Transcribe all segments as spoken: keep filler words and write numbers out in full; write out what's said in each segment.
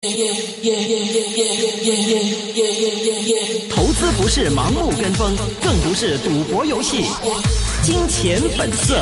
投资不是盲目跟风，更不是赌博游戏。金钱本色。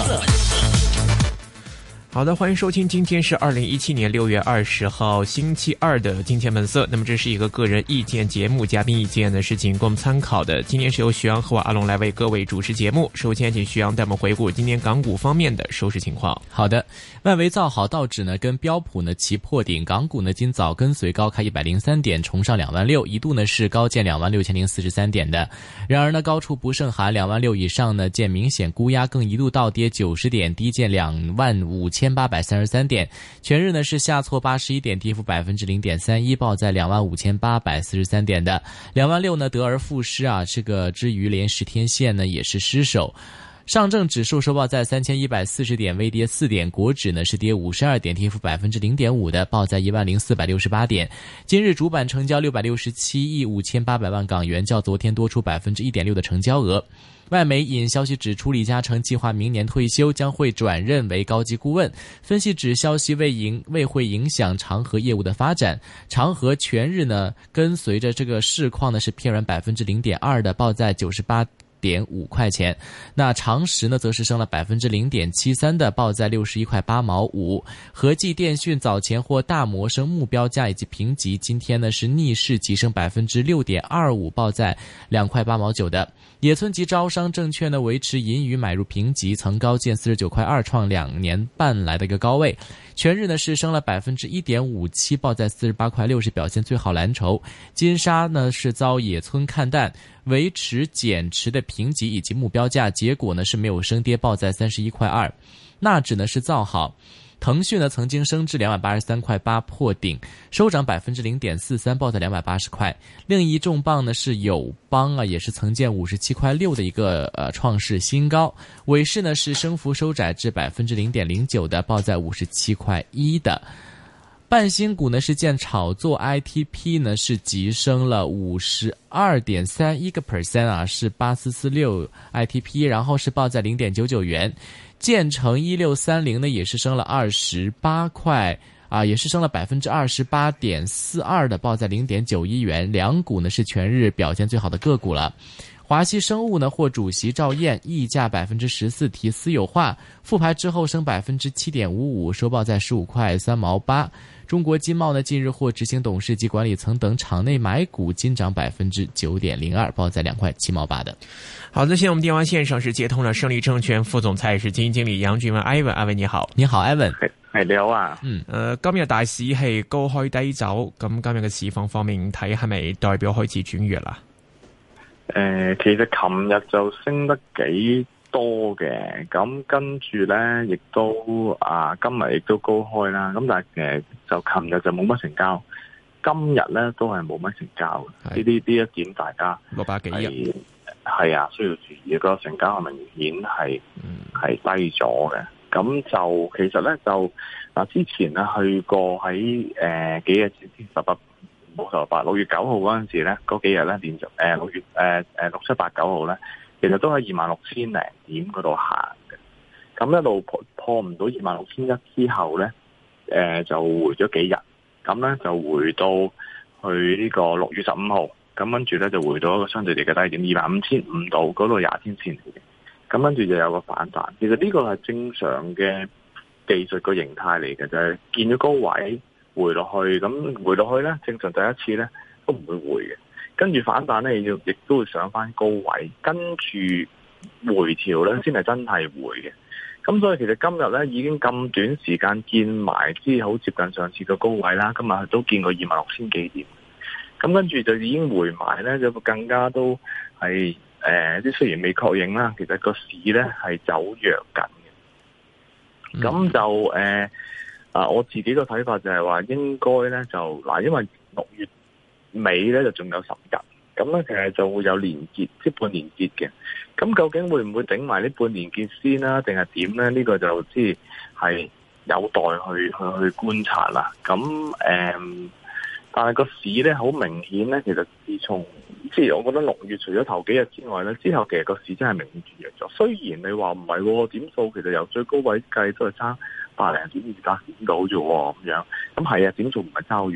好的，欢迎收听，今天是二零一七年六月二十号星期二的金钱本色。那么这是一个个人意见节目，嘉宾意见呢是仅供参考的。今天是由徐阳和我阿龙来为各位主持节目。首先请徐阳带我们回顾今天港股方面的收市情况。 好的，外围造好，道指呢跟标普呢齐破顶，港股呢今早跟随高开一百零三点，冲上两万六，一度呢是高见两万六千零四十三点的。然而呢高处不胜寒，两万六以上呢见明显估压，更一度倒跌九十点，低见两万五千八百三十三点，全日呢是下挫八十一点，跌幅百分之零点三一，报在两万五千八百四十三点的。两万六呢得而复失啊，这个之余连十天线呢也是失守。上证指数收报在三千一百四十点，微跌四点，国指呢是跌五十二点，跌幅百分之零点五的，报在一万零四百六十八点。今日主板成交六百六十七亿五千八百万港元，较昨天多出百分之一点六的成交额。外媒引消息指出，李嘉诚计划明年退休，将会转任为高级顾问。分析指消息未影未会影响长和业务的发展。长和全日呢跟随着这个市况呢是偏软百分之零点二的，报在九十八点五块钱。那长实呢则是升了百分之零点七三的，报在六十一块八毛五。和记电讯早前获大摩升目标价以及评级，今天呢是逆势急升百分之六点二五，报在两块八毛九的。野村及招商证券呢维持银娱买入评级，曾高见四十九块二，创两年半来的一个高位。全日呢是升了百分之一点五七，报在四十八块六，是表现最好蓝筹。金沙呢是遭野村看淡，维持减持的评级以及目标价，结果呢是没有升跌，报在三十一块二。纳指呢是造好。腾讯呢曾经升至两百八十三块八破顶，收涨百分之零点四三，报在两百八十块。另一重磅呢是友邦啊，也是曾见五十七块六的一个呃创世新高。尾市呢是升幅收窄至百分之零点零九的，报在五十七块一的。半新股呢是见炒作 I T P 呢是急升了五十二点三一个 percent 啊，是八四四六 I T P， 然后是报在零点九九元。建成一六三零呢也是升了二十八块啊，也是升了百分之二十八点四二的，报在零点九一元。两股呢是全日表现最好的个股了。华西生物呢获主席赵燕溢价百分之十四提私有化，复牌之后升百分之七点五五，收报在十五块三毛八。中国金茂呢近日获执行董事及管理层等场内买股，金涨百分之九点零二，报在两块七毛八的。 好的，现在我们电话线上是接通了胜利證券副總裁是基金經理楊俊文 Ivan， Ivan 你好。 你好 Ivan。 係你好啊。 嗯，誒今日大市係高開低走，咁今日嘅市況方面睇係咪代表開始轉弱啦？ 誒、呃，其實琴日就升得幾多嘅，咁跟住咧亦都啊今日亦都高開啦，咁但係誒就琴日就冇乜成交，今日咧都係冇乜成交嘅，呢啲呢一點大家六百幾億。 係啊，需要注意，個成交明顯係係低咗嘅。咁就其實咧就嗱，之前咧去過喺誒、呃、幾日前十八冇十八六月九號嗰陣時咧，嗰幾日咧連續誒六月誒誒六七八九號咧，其實都喺二萬六千零點嗰度行嘅。咁一路破破唔到二萬六千一之後咧，誒、呃、就回咗幾日，咁咧就回到去呢個六月十五號。咁跟住咧就回到一個相對地嘅低點二萬五千五度，嗰度廿天線嚟嘅。咁跟住就有個反彈。其實呢個係正常嘅技術個形態嚟嘅，就係、是、見咗高位回落去，咁回落去咧正常第一次咧都唔會回嘅。跟住反彈咧要亦都會上翻高位，跟住回調咧先係真係回嘅。咁所以其實今日咧已經咁短時間見埋之好接近上次嘅高位啦，今日都見過二萬六千幾點。咁跟住就已經回埋咧，就更加都係誒，即、呃、雖然未確認啦，其實個市咧係走弱緊嘅。咁、嗯、就誒啊、呃，我自己個睇法就係話應該咧就嗱，因為六月尾咧就仲有十日，咁咧其實就會有連結，即係半年結嘅。咁究竟會唔會頂埋呢半年結先啦，定係點咧？呢、呢個就即係有待去去去觀察啦。咁誒。呃但係個市咧好明顯咧，其實自從即係我覺得六月除咗頭幾日之外咧，之後其實個市真係明顯轉弱咗。雖然你話唔係喎，點數其實由最高位計都係差百零點二百點到啫喎，咁樣咁係啊，點數唔係差好遠。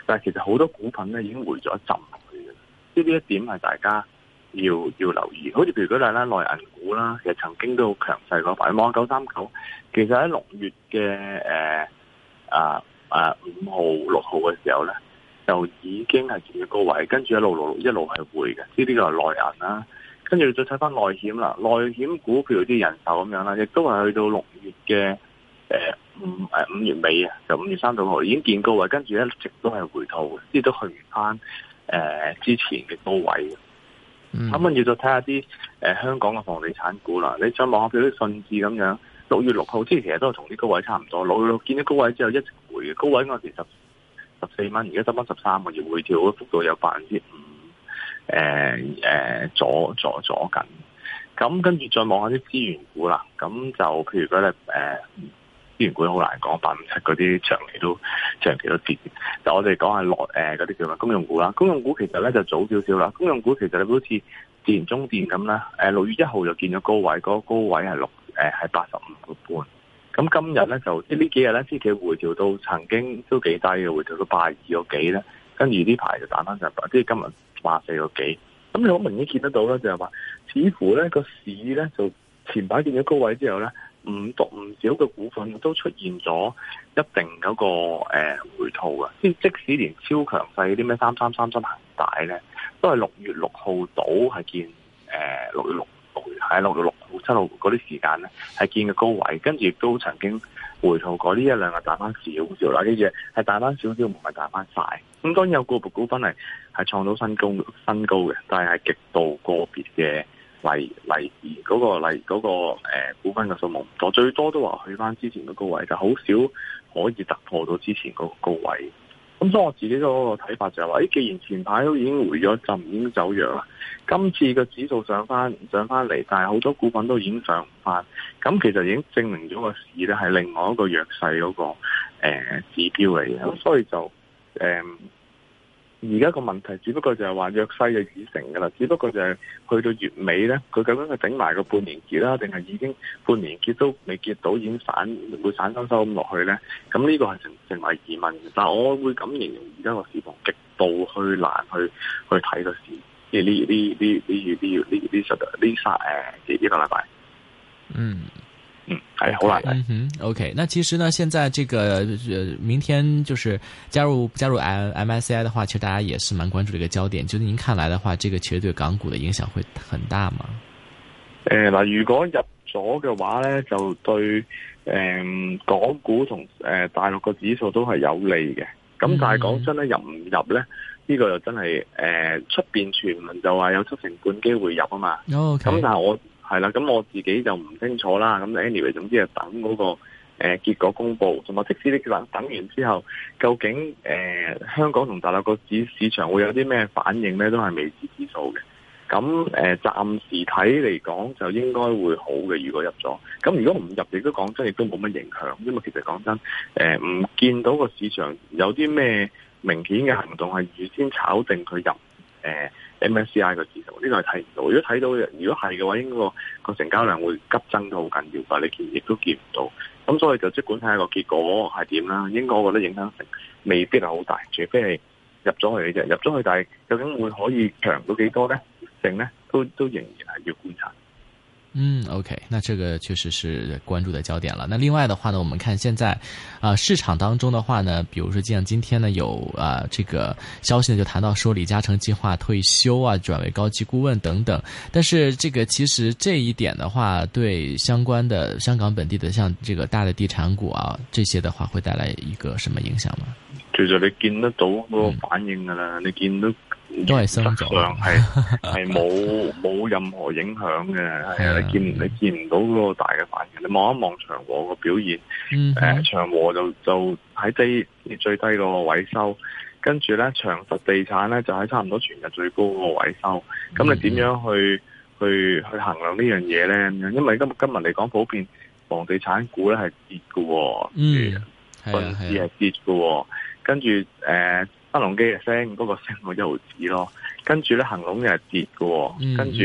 但係其實好多股份咧已經回咗一浸去嘅，即係呢一點係大家要要留意。好似譬如舉例啦，內銀股啦，其實曾經都好強勢嗰排，望九三九，其實喺六月嘅誒啊啊五號六號嘅時候咧，就已經係見咗高位，跟住一路路一路係回嘅，呢啲就係內銀啦。跟住再睇翻內險啦，內險股譬如啲人壽咁樣啦，亦都係去到六月嘅誒五誒五月尾啊，就五月三十號已經見高位，跟住一直都係回吐，即係都去唔翻誒之前嘅高位。咁跟住再睇下啲誒香港嘅房地產股啦，你再望下譬如啲信置咁樣，六月六號即係其實都係同啲高位差唔多，六月六見到高位之後一直回嘅，高位嗰陣時十十四蚊，而家得翻十三個月，回調嘅幅度有百分之五。誒、呃、誒、呃，左左左緊，咁跟住再望下啲資源股啦，咁就譬如嗰啲誒資源股好難講，八五七嗰啲長期都長期都跌。就我哋講下落誒嗰啲叫咩公用股啦，公用股其實咧就早少少啦，公用股其實你好似電中電咁啦，誒六月一號就見咗高位，嗰、那個高位係六誒係八十五個半，咁今日咧就即係呢幾日咧，即係回調到曾經都幾低嘅，回調到八十二個幾咧，跟住呢排就打翻上嚟，即係今日。八四個幾，咁你好明顯見得到咧，就係話，似乎咧個市咧就前排見咗高位之後咧，唔多唔少嘅股份都出現咗一定嗰個誒回吐嘅，即即使連超強勢啲咩三三三七恒大咧，都係六月六號到係見誒六月六喺六月六號七號嗰啲時間咧係見嘅高位，跟住亦都曾經回吐過，呢一兩日彈翻少少啦，啲嘢係彈翻少少，唔係彈翻晒。咁當然有個別股份係係創到新高新高嘅，但係係極度個別嘅例例子，嗰、那個例嗰、那個誒、呃、股份嘅數目唔多，最多都話去翻之前嘅高位，就好少可以突破到之前嗰個高位。咁所以我自己嗰個睇法就係話，誒，既然前排都已經回咗一陣，已經走弱啦，今次個指數上翻上翻嚟，但係好多股份都已經上唔翻，咁其實已經證明咗個市咧係另外一個弱勢嗰個誒、呃、指標嚟嘅，咁所以就誒而家個問題只不過就係話弱勢就已成噶啦，只不過就係去到月尾咧，佢究竟係頂埋個半年結啦，定係已經半年結都未結到，已經散會散收收咁落去咧？咁呢個係成成為疑問嘅。但係我會咁形容，而家個市況極度去難去去睇個市，即係呢呢呢呢月呢月呢呢十呢三誒幾幾個禮拜，嗯。嗯，係好難睇。 嗯哼 ，OK。那其實呢，現在這個呃，明天就是加入加入 M S C I 的話，其實大家也是蠻關注這個焦點。就是您看來的話，這個其實對港股的影響會很大嗎？ 誒，嗱，如果入咗嘅話咧，就對誒、呃、港股同誒、呃、大陸個指數都係有利嘅。咁但係講真咧，入唔入咧？呢、這個又真係誒出邊傳聞就話有七成半機會入啊嘛。哦，咁但係我。係啦，咁我自己就唔清楚啦。咁 anyway，總之係等嗰、那個誒、呃、結果公布，同埋即使你等等完之後，究竟誒、呃、香港同大陸個市市場會有啲咩反應咧，都係未知之數嘅。咁誒暫時睇嚟講，就應該會好嘅。如果入咗，咁如果唔入，亦都講真，亦都冇乜影響。因為其實講真，誒、呃、唔見到個市場有啲咩明顯嘅行動係預先炒定佢入誒。呃M S C I 個指數呢個係睇唔到，如果睇到，如果係嘅話，應該個個成交量會急增都好緊要，但係你見亦都見唔到，咁所以就即管睇下個結果係點啦。應該我覺得影響性未必係好大，除非係入咗去嘅啫，入咗去，但係究竟會可以強到幾多咧？成咧都都仍然係要觀察。 嗯 ，OK， 那這個確實是關注的焦點了。那另外的話呢，我們看現在啊、呃、市場當中的話呢，比如說像今天呢有啊、呃、這個消息呢就談到說李嘉誠計劃退休啊，轉為高級顧問等等。但是這個其實這一點的話，對相關的香港本地的像這個大的地產股啊，這些的話會帶來一個什麼影響嗎？ 其實你見得到嗰個反應噶啦、嗯，你見到。 都係升咗， 係係冇冇任何影響嘅，係啊！你見你見唔到嗰個大嘅反應，你望一望長和個表現，誒、嗯呃、長和就就喺低最低嗰個位收，跟住咧長實地產咧就喺差唔多全日最高嗰個位收，咁、嗯、你點樣去去去衡量呢樣嘢咧？因為今今日嚟講，普遍房地產股咧係跌嘅，嗯，甚至係跌嘅，跟住誒。呃新鴻基嘅升，嗰、那個升到一毫子咯，跟住咧恒隆又係跌嘅，跟住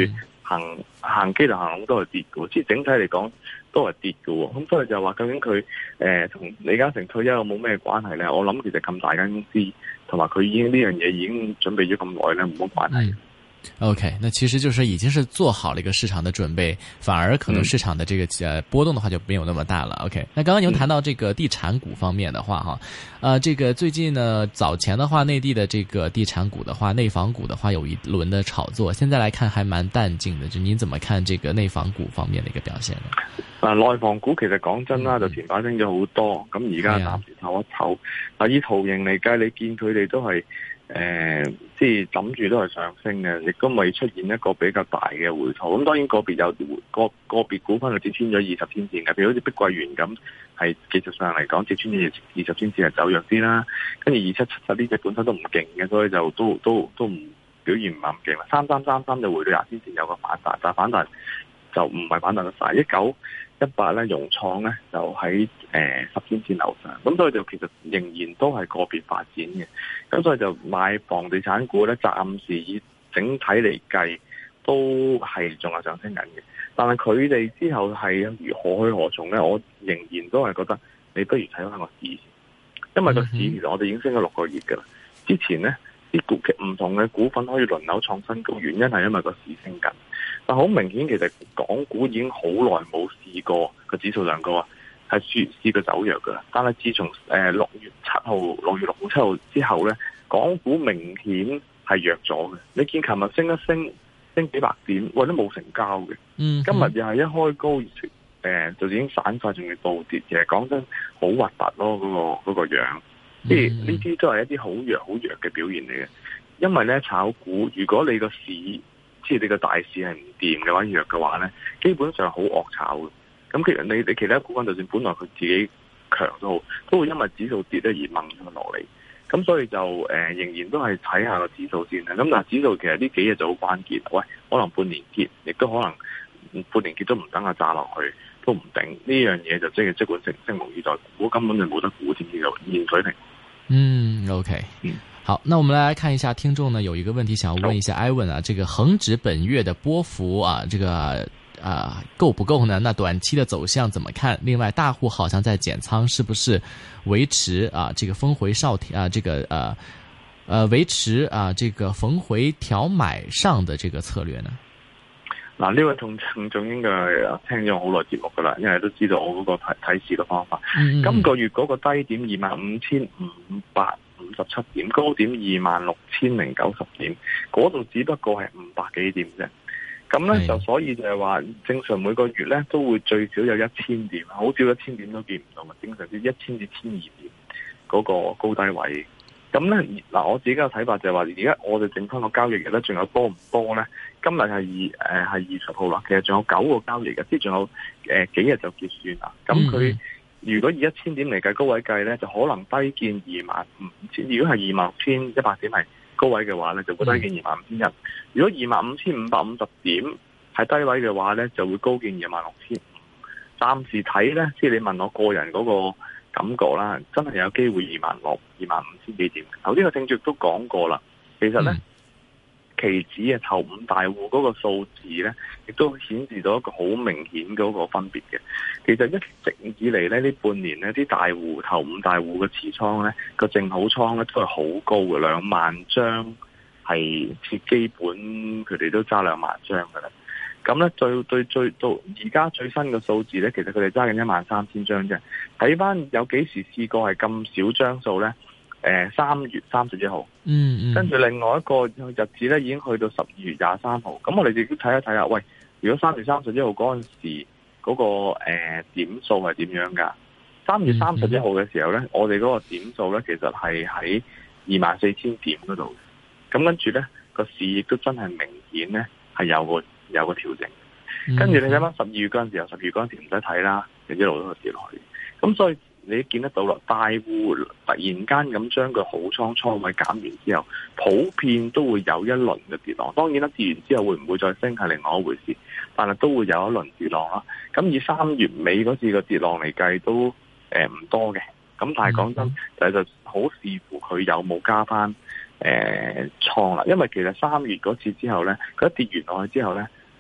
行行機同行龍都係跌嘅，即係整體嚟講都係跌嘅。咁所以就話究竟佢誒同李嘉誠退休有冇咩關係咧？我諗其實咁大間公司，同埋佢已經呢樣嘢已經準備咗咁耐咧，冇乜關係。 OK， 那其實就是已經是做好了一個市場的準備，反而可能市場的這個呃波動的話就沒有那麼大了。OK， 那剛剛您談到這個地產股方面的話，哈，呃，這個最近呢早前的話，內地的這個地產股的話，內房股的話有一輪的炒作，現在來看還蠻淡靜的。就您怎麼看這個內房股方面的一個表現呢？ 嗱，內房股其實講真啦，就前排升咗好多，咁而家暫時唞一唞。嗱，以圖形嚟計，你見佢哋都係。誒、呃，即係諗住都係上升嘅，亦都未出現一個比較大嘅回吐。咁當然個別有個個別股份就跌穿咗二十天線嘅，譬如好似碧桂園咁，係技術上嚟講跌穿咗二十天線係走弱啲啦。跟住二七七七呢隻本身都唔勁嘅，所以就都都都唔表現唔係咁勁啦。三三三三就回到廿天線有個反彈，但係反彈就唔係反彈得晒。一九一八咧，融創咧就喺誒十天線樓上，咁所以就其實仍然都係個別發展嘅，咁所以就買房地產股咧，暫時以整體嚟計都係仲係上升緊嘅，但係佢哋之後係如何去何從咧？我仍然都係覺得你不如睇翻個市，因為個市其實我哋已經升咗六個月噶啦，之前咧啲股唔同嘅股份可以輪流創新高，原因係因為個市升緊。但好明顯，其實港股已經好耐冇試過個指數上高，係試試過走弱噶啦。但係自從誒六月七號、六月六號、七號之後咧，港股明顯係弱咗嘅。你見琴日升一升，升幾百點，或者冇成交嘅。嗯，今日又係一開高，誒、呃、就已經散晒，仲要倒跌。其實講真，好核突咯，嗰、嗰個嗰、嗰個樣。即係呢啲都係一啲好弱、好弱嘅表現嚟嘅。因為咧炒股，如果你個市即係你個大市係唔掂嘅話，弱嘅話咧，基本上好惡炒嘅。咁其實你你其他股份就算本來佢自己強都好，都會因為指數跌咧而掹咗落嚟。咁所以就誒、呃、仍然都係睇下個指數先啦。咁但係指數其實呢幾日就好關鍵。喂，可能半年結，亦都可能半年結都唔等下炸落去，都唔定。呢樣嘢就即係即管拭拭目以待，股根本就冇得估添呢個現水平。 嗯 ，OK， 嗯。好，那我們來看一下聽眾呢有一個問題想要問一下 Ivan 啊，這個恒指本月的波幅啊，這個啊夠不夠呢？那短期的走向怎麼看？另外，大戶好像在減倉，是不是維持啊這個峰回少調啊這個呃呃維持啊這個逢回調買上的這個策略呢？ 嗱，呢位聽眾應該聽咗好耐節目噶啦，因為都知道我嗰個睇睇市嘅方法。嗯、今個月嗰個低點二萬五千五百五十七點，高點二萬六千零九十點，嗰度只不過係五百幾點啫。咁咧就所以就係話，正常每個月咧都會最少有一千點，好少一千點都見唔到嘛。正常啲一千至千二點嗰個高低位。咁咧嗱，我自己嘅睇法就係話，而家我哋整翻個交易日咧，仲有多唔多咧？今日係二誒係二十號啦，其實仲有九個交易日，即係仲有誒、呃、幾日就結算啦。咁佢如果以一千點嚟計高位計咧，就可能低見二萬五千。如果係二萬六千一百點係高位嘅話咧，就會低見二萬五千一。如果二萬五千五百五十點係低位嘅話咧，就會高見二萬六千五。暫時睇咧，即係你問我個人嗰個感覺啦，真係有機會二萬六、二萬五千幾點。頭先個聽眾都講過啦，其實咧。嗯期指嘅頭五大戶嗰個數字咧，亦都顯示到一個好明顯嗰個分別嘅。其實一直以嚟咧，呢半年咧，啲大戶頭五大戶嘅持倉咧，個淨好倉咧都係好高嘅，兩萬張係設基本，佢哋都揸兩萬張嘅啦。咁咧，最對最到而家最新嘅數字咧，其實佢哋揸緊一萬三千張啫。睇翻有幾時試過係咁少張數咧？誒，三月三十一號，嗯嗯，跟住另外一個日子咧，已經去到十二月廿三號。咁我哋自己睇一睇下，喂，如果三月三十一號嗰陣時嗰、嗰個誒、呃、點數係點樣噶？三月三十一號嘅時候咧，嗯、我哋嗰個點數咧，其實係喺二萬四千點嗰度。咁跟住咧，個市亦都真係明顯咧係有個有個調整。跟住你睇翻十二月嗰陣時候，十二月嗰陣時唔使睇啦，就一路都跌落去。咁所以。你見得到啦，大戶突然間咁將個好倉倉位減完之後，普遍都會有一輪嘅跌浪。當然啦，跌完之後會唔會再升係另外一回事，但係都會有一輪跌浪啦。咁以三月尾嗰次嘅跌浪嚟計，都誒唔、呃、多嘅。咁但係講真，就就好視乎佢有冇加翻誒倉啦。因為其實三月嗰次之後咧，佢一跌完落去之後咧，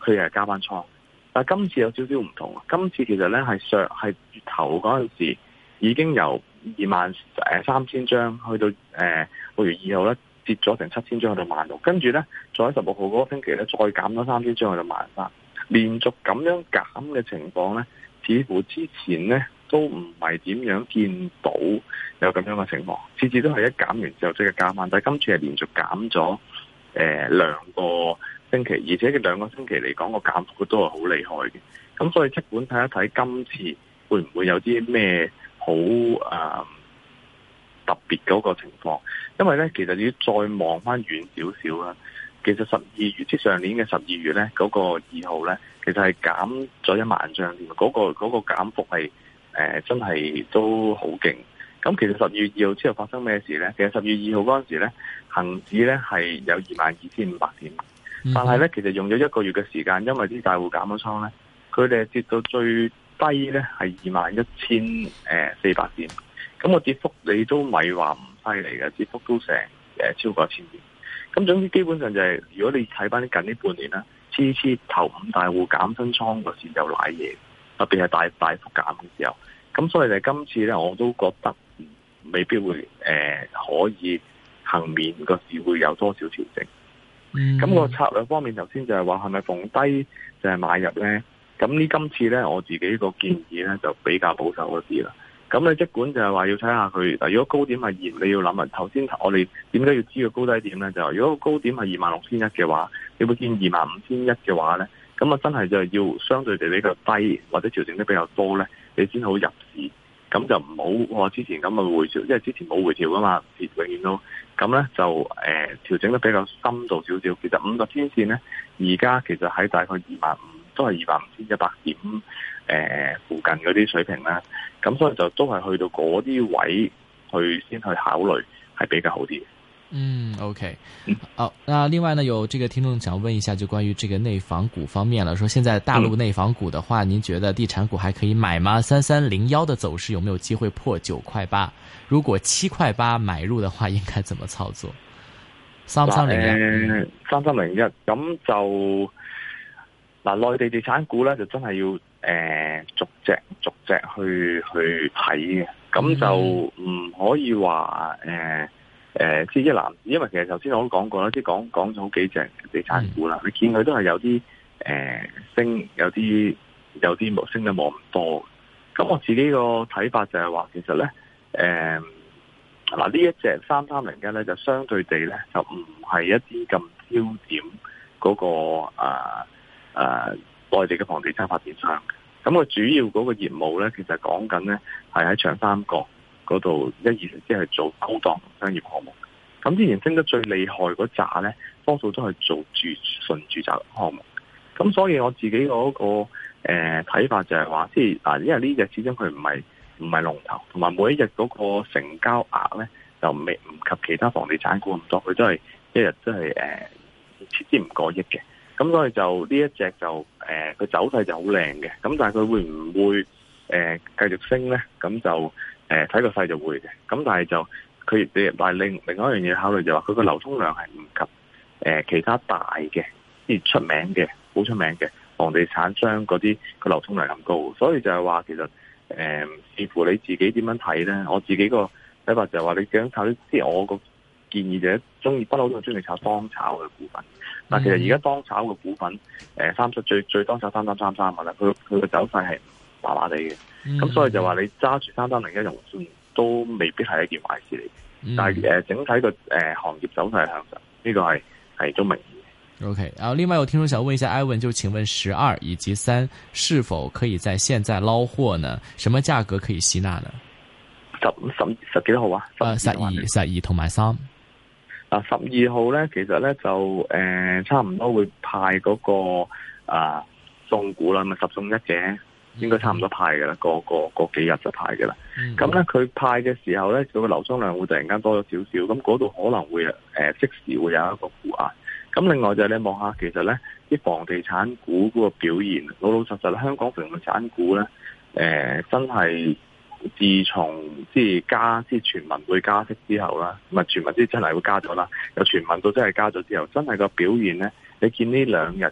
佢又係加翻倉。但係今次有少少唔同，今次其實咧係上係月頭嗰陣時已經由二萬誒三千張去到誒六月二號咧跌咗成七千張去到萬六，跟住咧再喺十六號嗰個星期咧再減咗三千張去到萬三，連續咁樣減嘅情況咧，似乎之前咧都唔係點樣見到有咁樣嘅情況，次次都係一減完之後即刻加翻，但係今次係連續減咗誒兩個星期，而且嘅兩個星期嚟講個減幅都係好厲害嘅。咁所以即管睇一睇今次會唔會有啲咩好誒、呃、特別嗰個情況，因為咧其實要再望翻遠少少啦。其實十二月即上年嘅十二月咧嗰、那個二號咧，其實係減咗一萬張添，嗰、那個嗰、那個減幅係誒、呃、真係都好勁。咁其實十二月二號之後發生咩事咧？其實十二月二號嗰陣時咧，恒指咧係有二萬二千五百點。但係咧，其實用咗一個月嘅時間，因為啲大戶減咗倉咧，佢哋跌到最低咧係二萬一千誒四百點。咁個跌幅你都咪話唔犀利嘅，跌幅都成誒超過一千點。咁總之基本上就係、是，如果你睇翻啲近呢半年啦，次次頭五大戶減新倉個時就瀨嘢，特別係大大幅減嘅時候。咁所以就今次咧，我都覺得未必會誒、呃、可以幸免個市會有多少調整。咁、嗯、個策略方面，頭先就係話係咪逢低就係買入咧？咁呢今次咧，我自己個建議咧就比較保守一啲啦。咁你即管就係話要睇下佢嗱，如果高點係二，你要諗啊。頭先我哋點解要知個高低點咧？就係如果個高點係二萬六千一嘅話，你會見二萬五千一嘅話咧，咁啊真係就係要相對地比較低或者調整得比較多咧，你先好入市。咁就唔好話之前咁嘅回調，因為之前冇回調噶嘛，永遠都咁咧就誒、呃、調整得比較深度少少。其實五個天線咧，而家其實喺大概二萬五，都係二萬五千一百點誒、呃、附近嗰啲水平啦。咁所以就都係去到嗰啲位去先去考慮，係比較好啲。 嗯 ，OK，好、哦。那另外呢，有這個聽眾想問一下，就關於這個內房股方面了。說現在大陸內房股的話，嗯、您覺得地產股還可以買嗎？三三零幺的走勢有沒有機會破九塊八？如果七塊八買入的話，應該怎麼操作？三三零一， 三三零一，咁就嗱，內地地產股咧就真係要誒、呃、逐隻逐隻去去睇嘅，咁就唔可以話誒。呃誒、呃，即係一籃，因為其實頭先我都講過啦，即係講講咗好幾隻地產股啦，嗯、你見佢都係有啲誒、呃、升，有啲有啲冇升得冇咁多。咁我自己個睇法就係話，其實咧，誒嗱呢一隻三三零一咧，就相對地咧就唔係一啲咁焦點嗰、那個誒誒內地嘅房地產發展商。咁佢主要嗰個業務咧，其實講緊咧係喺長三角嗰度一二即係做高檔商業項目，咁之前升得最厲害嗰扎咧，多數都係做住純住宅項目。咁所以我自己嗰、那個誒睇、呃、法就係話，即係嗱，因為呢隻始終佢唔係唔係龍頭，同埋每一日嗰個成交額咧就未唔及其他房地產股咁多，佢都係一日都係誒設之唔過億嘅。咁所以就呢一隻就誒佢、呃、走勢就好靚嘅，咁但係佢會唔會誒、呃、繼續升咧？咁就誒，睇個勢就會嘅，咁但係就佢，但係另另外一樣嘢考慮就話，佢個流通量係唔及誒、呃、其他大嘅，即係出名嘅、好出名嘅房地產商嗰啲個流通量咁高，所以就係話其實誒、呃，視乎你自己點樣睇咧。我自己個睇法就係話，你想炒啲，即係我個建議就係中意不嬲都中意炒當炒嘅股份。但其實而家當炒嘅股份，誒、呃，三十最最當炒三三三三嘅啦，佢佢個走勢係麻麻地嘅。咁、嗯、所以就話你揸住三三零一融算都未必係一件壞事嚟，嗯、但係誒、呃、整體個誒、呃、行業走勢係向上，呢、這個係係都明顯嘅。OK， 然後另外有聽眾想問一下 Ivan， 就請問十二以及三是否可以在現在撈貨呢？什麼價格可以吸納呢？十十十幾號啊？誒，十二十二同埋三。嗱，十二號咧，其實咧就誒、呃、差唔多會派嗰、那個啊送股啦，咪十送一嘅。應該差唔多派嘅啦，個個個幾日就派嘅啦。咁咧佢派嘅時候咧，佢個流通量會突然間多咗少少，咁嗰度可能會誒、呃、即時會有一個沽壓。咁另外就係你望下，其實咧啲房地產股嗰個表現，老老實實香港房地產股咧，誒、呃、真係自從即係加即係傳聞會加息之後啦，唔係傳聞即係真係會加咗啦，有傳聞到真係加咗之後，真係個表現咧，你見呢兩日個時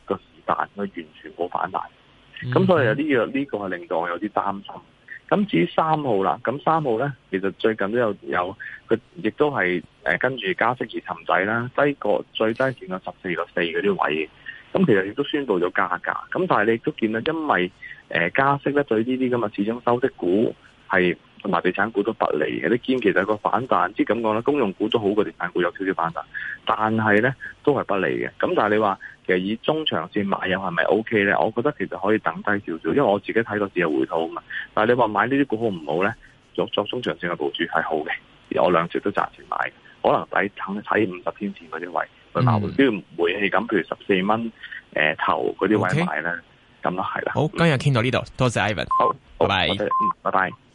彈，佢完全冇反彈。咁、嗯、所以有呢個呢個係令到我有啲擔心。咁至於三號啦，咁三號咧，其實最近都有有佢亦都係誒跟住加息而沉底啦，低過最低見到十四個四嗰啲位。咁其實亦都宣布咗加價。咁但係你亦都見到，因為誒加息咧，對呢啲咁嘅始終收息股係同埋地產股都不利嘅。你見其實個反彈，即係咁講啦，公用股都好過地產股有少少反彈，但係咧都係不利嘅。咁但係你話其實以中長線買入係咪 O K 咧？我覺得其實可以等低少少，因為我自己睇個市有回吐啊嘛。但係你話買呢啲股好唔好咧？作作中長線嘅部署係好嘅，我兩隻都暫時買，可能抵等睇五十天線嗰啲位去買，只要煤氣咁，譬如十四蚊誒頭嗰啲位買咧，咁咯係啦。 好，今日傾到呢度，多謝 Ivan， 好， 拜拜， 嗯，拜拜。